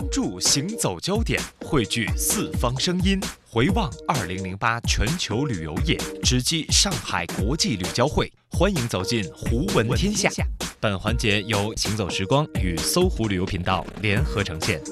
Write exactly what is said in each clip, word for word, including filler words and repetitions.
注行走焦点，汇聚四方声音，回望二零零八全球旅游业，直击上海国际旅交会。欢迎走进胡闻天下。本环节由行走时光与搜狐旅游频道联合呈现。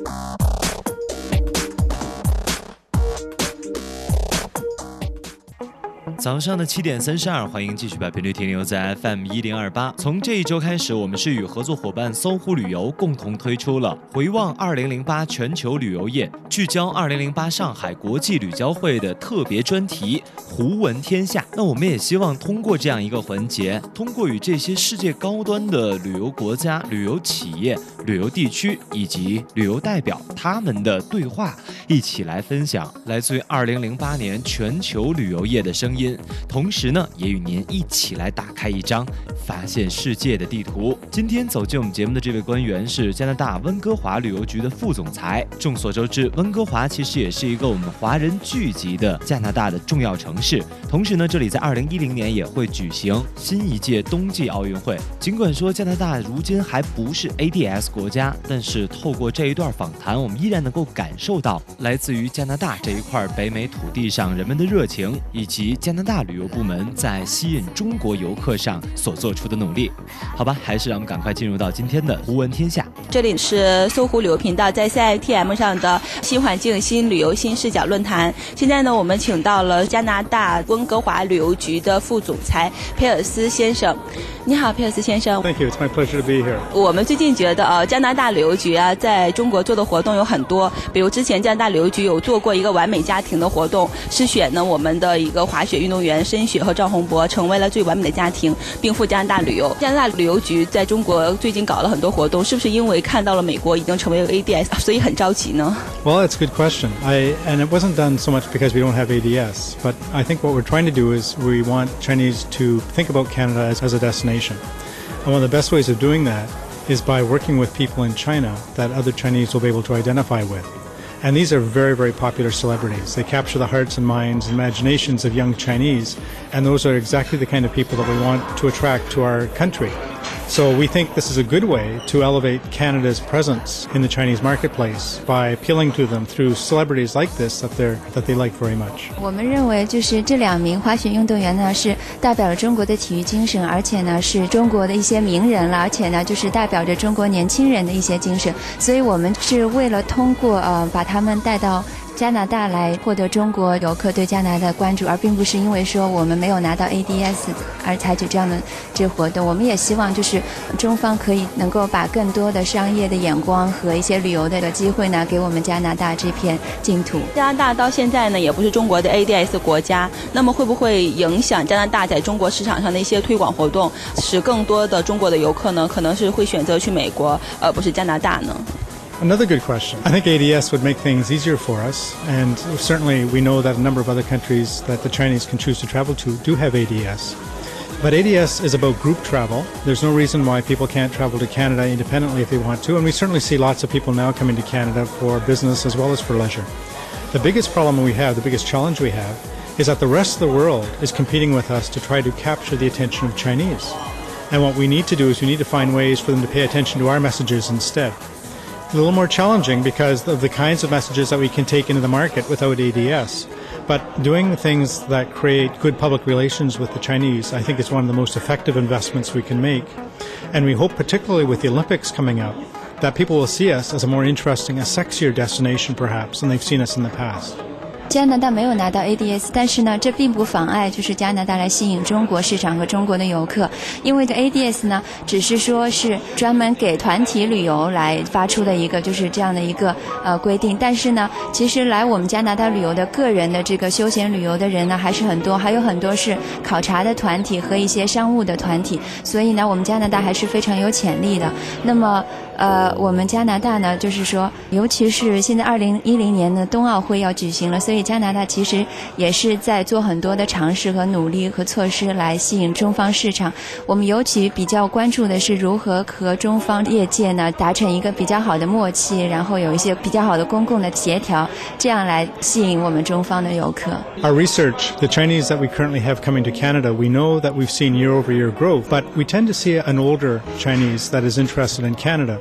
早上的七点三十二，欢迎继续把频率停留在 F M 一零二八。从这一周开始，我们是与合作伙伴搜狐旅游共同推出了回望二零零八全球旅游业，聚焦二零零八上海国际旅交会的特别专题胡闻天下。那我们也希望通过这样一个环节，通过与这些世界高端的旅游国家、旅游企业、旅游地区以及旅游代表他们的对话，一起来分享来自于二零零八年全球旅游业的声音。同时呢，也与您一起来打开一张发现世界的地图。今天走进我们节目的这位官员是加拿大温哥华旅游局的副总裁。众所周知，温哥华其实也是一个我们华人聚集的加拿大的重要城市。同时呢，这里在二零一零年也会举行新一届冬季奥运会。尽管说加拿大如今还不是 A D S 国家，但是透过这一段访谈，我们依然能够感受到来自于加拿大这一块北美土地上人们的热情，以及加拿大旅游部门在吸引中国游客上所做出的努力。好吧，还是让我们赶快进入到今天的胡闻天下。 这里是搜狐旅游频道在 C I T M 上的新环境新旅游新视角论坛。现在呢，我们请到了加拿大温哥华旅游局的副总裁佩尔斯先生。你好，佩尔斯先生。 Thank you, it's my pleasure to be here. 我们最近觉得呃，加拿大旅游局啊，在中国做的活动有很多，比如之前加拿大旅游局有做过一个完美家庭的活动，是选呢我们的一个滑雪运动员申雪和赵宏博成为了最完美的家庭，并赴加拿大旅游。加拿大旅游局在中国最近搞了很多活动，是不是因为看到了美国已经成为了 A D S， 所以很着急呢？ Well, it's a good question. I, and it wasn't done so much because we don't have A D S, but I think what we're trying to do is we want Chinese to think about Canada as, as a destination. And one of the best ways of doing that is by working with people in China that other Chinese will be able to identify with. And these are very, very popular celebrities. They capture the hearts and minds and imaginations of young Chinese, and those are exactly the kind of people that we want to attract to our country. So we think this is a good way to elevate Canada's presence in the Chinese marketplace by appealing to them through celebrities like this that they're that they like very much. 我们认为就是这两名滑雪运动员呢，是代表了中国的体育精神，而且呢是中国的一些名人了，而且呢就是代表着中国年轻人的一些精神。所以我们是为了通过呃把他们带到加拿大来获得中国游客对加拿大的关注，而并不是因为说我们没有拿到 A D S 而采取这样的这活动。我们也希望就是中方可以能够把更多的商业的眼光和一些旅游的机会呢给我们加拿大这片净土。 加拿大到现在呢也不是中国的 A D S 国家，那么会不会影响加拿大在中国市场上的一些推广活动，使更多的中国的游客呢可能是会选择去美国而不是加拿大呢 ？Another good question. I think A D S would make things easier for us, and certainly we know that a number of other countries that the Chinese can choose to travel to do have A D S. But A D S is about group travel. There's no reason why people can't travel to Canada independently if they want to, and we certainly see lots of people now coming to Canada for business as well as for leisure. The biggest problem we have, the biggest challenge we have, is that the rest of the world is competing with us to try to capture the attention of Chinese. And what we need to do is we need to find ways for them to pay attention to our messages instead. A little more challenging because of the kinds of messages that we can take into the market without A D S. But doing things that create good public relations with the Chinese, I think is one of the most effective investments we can make. And we hope, particularly with the Olympics coming up, that people will see us as a more interesting, a sexier destination perhaps than they've seen us in the past. 加拿大没有拿到 A D S， 但是呢，这并不妨碍就是加拿大来吸引中国市场和中国的游客，因为这 A D S 呢，只是说是专门给团体旅游来发出的一个就是这样的一个呃规定，但是呢，其实来我们加拿大旅游的个人的这个休闲旅游的人呢还是很多，还有很多是考察的团体和一些商务的团体，所以呢，我们加拿大还是非常有潜力的。那么呃，我们加拿大呢，就是说，尤其是现在二零一零年的冬奥会要举行了，所以加拿大其实也是在做很多的尝试和努力和措施来吸引中方市场。我们尤其比较关注的是如何和中方业界呢达成一个比较好的默契，然后有一些比较好的公共的协调，这样来吸引我们中方的游客。 Our research, the Chinese that we currently have coming to Canada, we know that we've seen year-over-year growth, but we tend to see an older Chinese that is interested in Canada.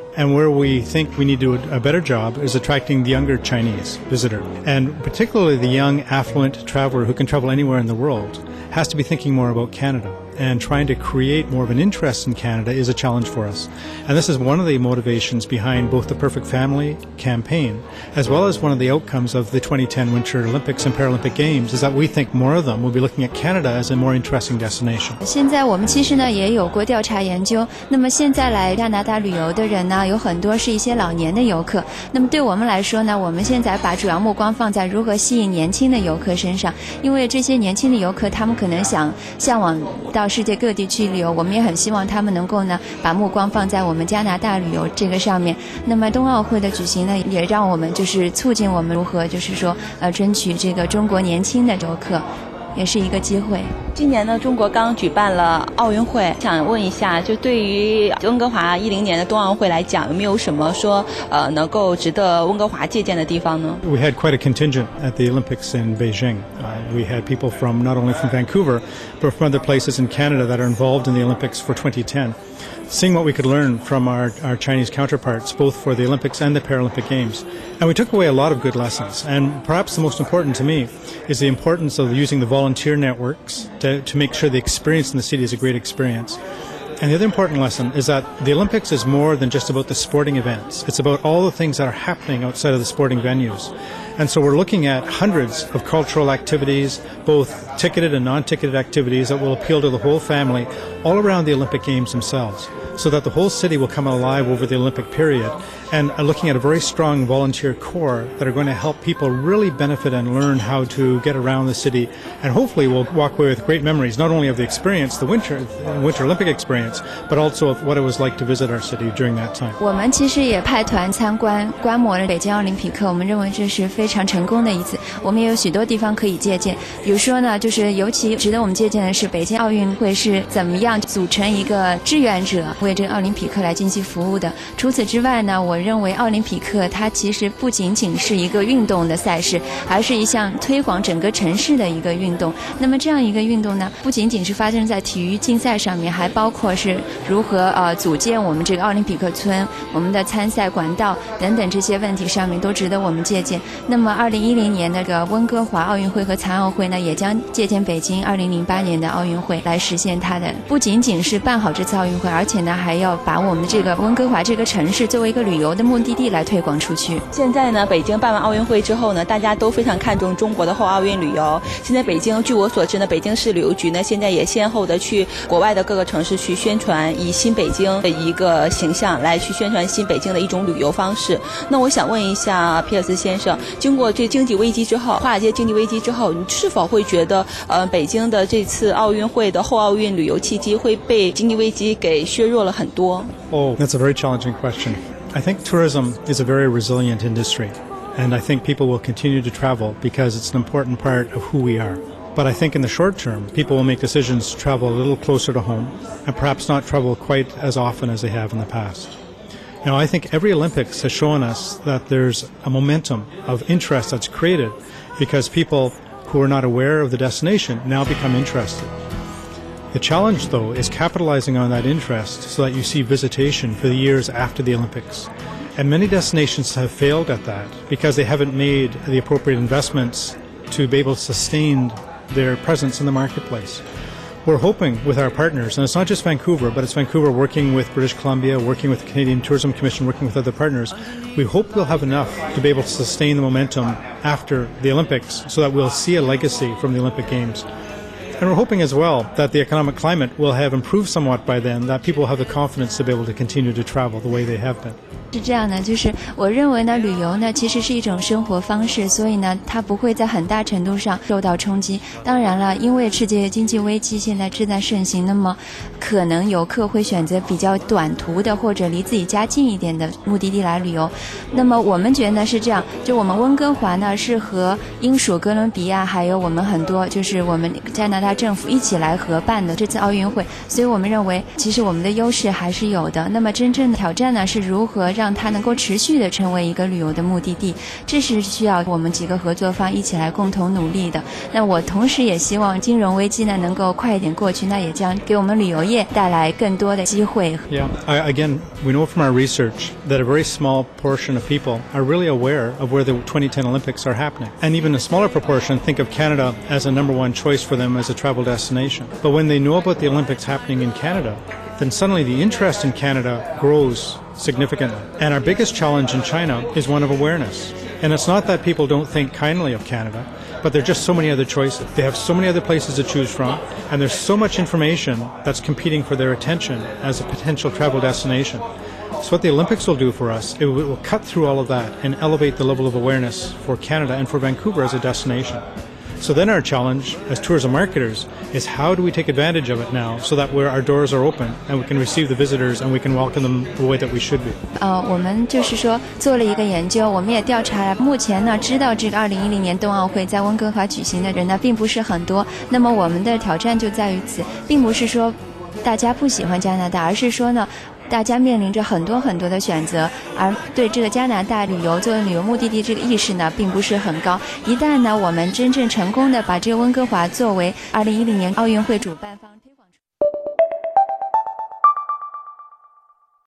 And where we think we need to do a better job is attracting the younger Chinese visitor. And particularly the young, affluent traveler who can travel anywhere in the world has to be thinking more about Canada. And trying to create more of an interest in Canada is a challenge for us. And this is one of the motivations behind both the Perfect Family campaign, as well as one of the outcomes of the twenty ten Winter Olympics and Paralympic Games, is that we think more of them will be looking at Canada as a more interesting destination. 现在我们其实呢也有过调查研究，那么现在来加拿大旅游的人呢，有很多是一些老年的游客。那么对我们来说呢，我们现在把主要目光放在如何吸引年轻的游客身上，因为这些年轻的游客他们可能想向往到世界各地去旅游，我们也很希望他们能够呢把目光放在我们加拿大旅游这个上面。那么冬奥会的举行呢，也让我们就是促进我们如何就是说呃争取这个中国年轻的游客，也是一个机会。 今年呢，中国刚举办了奥运会，想问一下，就对于温哥华一零年的冬奥会来讲，有没有什么说呃能够值得温哥华借鉴的地方呢？ We had quite a contingent at the Olympics in Beijing. Uh, we had people from not only from Vancouver, but from other places in Canada that are involved in the Olympics for twenty ten. Seeing what we could learn from our, our Chinese counterparts, both for the Olympics and the Paralympic Games. And we took away a lot of good lessons. And perhaps the most important to me is the importance of using the volunteer networks to, to make sure the experience in the city is a great experience. And the other important lesson is that the Olympics is more than just about the sporting events. It's about all the things that are happening outside of the sporting venues. And so we're looking at hundreds of cultural activities, both ticketed and non-ticketed activities that will appeal to the whole family all around the Olympic Games themselves, so that the whole city will come alive over the Olympic period, and are looking at a very strong volunteer core that are going to help people really benefit and learn how to get around the city, and hopefully we'll walk away with great memories, not only of the experience, the winter, the winter Olympic experience, but also of what it was like to visit our city during that time. 我们其实也派团参观观摩了北京奥林匹克，我们认为这是非常成功的一次，我们也有许多地方可以借鉴。比如说呢，就是尤其值得我们借鉴的是北京奥运会是怎么样组成一个志愿者为这个奥林匹克来进行服务的。除此之外呢，我认为奥林匹克它其实不仅仅是一个运动的赛事，而是一项推广整个城市的一个运动。那么这样一个运动呢，不仅仅是发生在体育竞赛上面，还包括是如何呃组建我们这个奥林匹克村、我们的参赛管道等等这些问题上面都值得我们借鉴。那么二零一零年那个温哥华奥运会和残奥会呢，也将借鉴北京二零零八年的奥运会来实现它的不仅仅是办好这次奥运会，而且呢还要把我们这个温哥华这个城市作为一个旅游的目的地来推广出去。 现在呢，北京办完奥运会之后呢，大家都非常看重中国的后奥运旅游。现在北京，据我所知呢，北京市旅游局呢，现在也先后的去国外的各个城市去宣传，以新北京的一个形象来去宣传新北京的一种旅游方式。那我想问一下皮尔斯先生，经过这经济危机之后，华尔街经济危机之后，你是否会觉得，呃，北京的这次奥运会的后奥运旅游契机会被经济危机给削弱了很多？ Oh, that's a very challenging question. I think tourism is a very resilient industry, and I think people will continue to travel because it's an important part of who we are. But I think in the short term, people will make decisions to travel a little closer to home and perhaps not travel quite as often as they have in the past. Now, I think every Olympics has shown us that there's a momentum of interest that's created because people who are not aware of the destination now become interested. The challenge, though, is capitalizing on that interest so that you see visitation for the years after the Olympics. And many destinations have failed at that because they haven't made the appropriate investments to be able to sustain their presence in the marketplace. We're hoping with our partners, and it's not just Vancouver, but it's Vancouver working with British Columbia, working with the Canadian Tourism Commission, working with other partners. We hope we'll have enough to be able to sustain the momentum after the Olympics so that we'll see a legacy from the Olympic Games. And we're hoping as well that the economic climate will have improved somewhat by then, that people will have the confidence to be able to continue to travel the way they have been. 是这样的，就是我认为呢，旅游呢其实是一种生活方式，所以呢，它不会在很大程度上受到冲击。当然了，因为世界经济危机现在正在盛行，那么可能游客会选择比较短途的或者离自己家近一点的目的地来旅游。那么我们觉得呢是这样，就我们温哥华呢是和英属哥伦比亚还有我们很多就是我们加拿大政府一起来合办的这次奥运会，所以我们认为其实我们的优势还是有的。那么真正的挑战呢是如何让让它能够持续的成为一个旅游的目的地，这是需要我们几个合作方一起来共同努力的。那我同时也希望金融危机呢能够快一点过去，那也将给我们旅游业带来更多的机会。 Yeah, I, again, we know from our research that a very small portion of people are really aware of where the twenty ten Olympics are happening. And even a smaller proportion think of Canada as a number one choice for them as a travel destination. But when they know about the Olympics happening in Canada, then suddenly the interest in Canada grows significantly. And our biggest challenge in China is one of awareness. And it's not that people don't think kindly of Canada, but there are just so many other choices. They have so many other places to choose from, and there's so much information that's competing for their attention as a potential travel destination. So what the Olympics will do for us, it will cut through all of that and elevate the level of awareness for Canada and for Vancouver as a destination. So then our challenge as tourism marketers is how do we take advantage of it now so that where our doors are open and we can receive the visitors and we can welcome them the way that we should be. 呃，我们就是说做了一个研究，我们也调查了，目前呢知道这个二零一零年冬奥会在温哥华举行的人呢并不是很多。那么我们的挑战就在于此，并不是说大家不喜欢加拿大，而是说呢大家面临着很多很多的选择，而对这个加拿大旅游作为旅游目的地这个意识呢并不是很高。一旦呢我们真正成功的把这个温哥华作为二零一零年奥运会主办方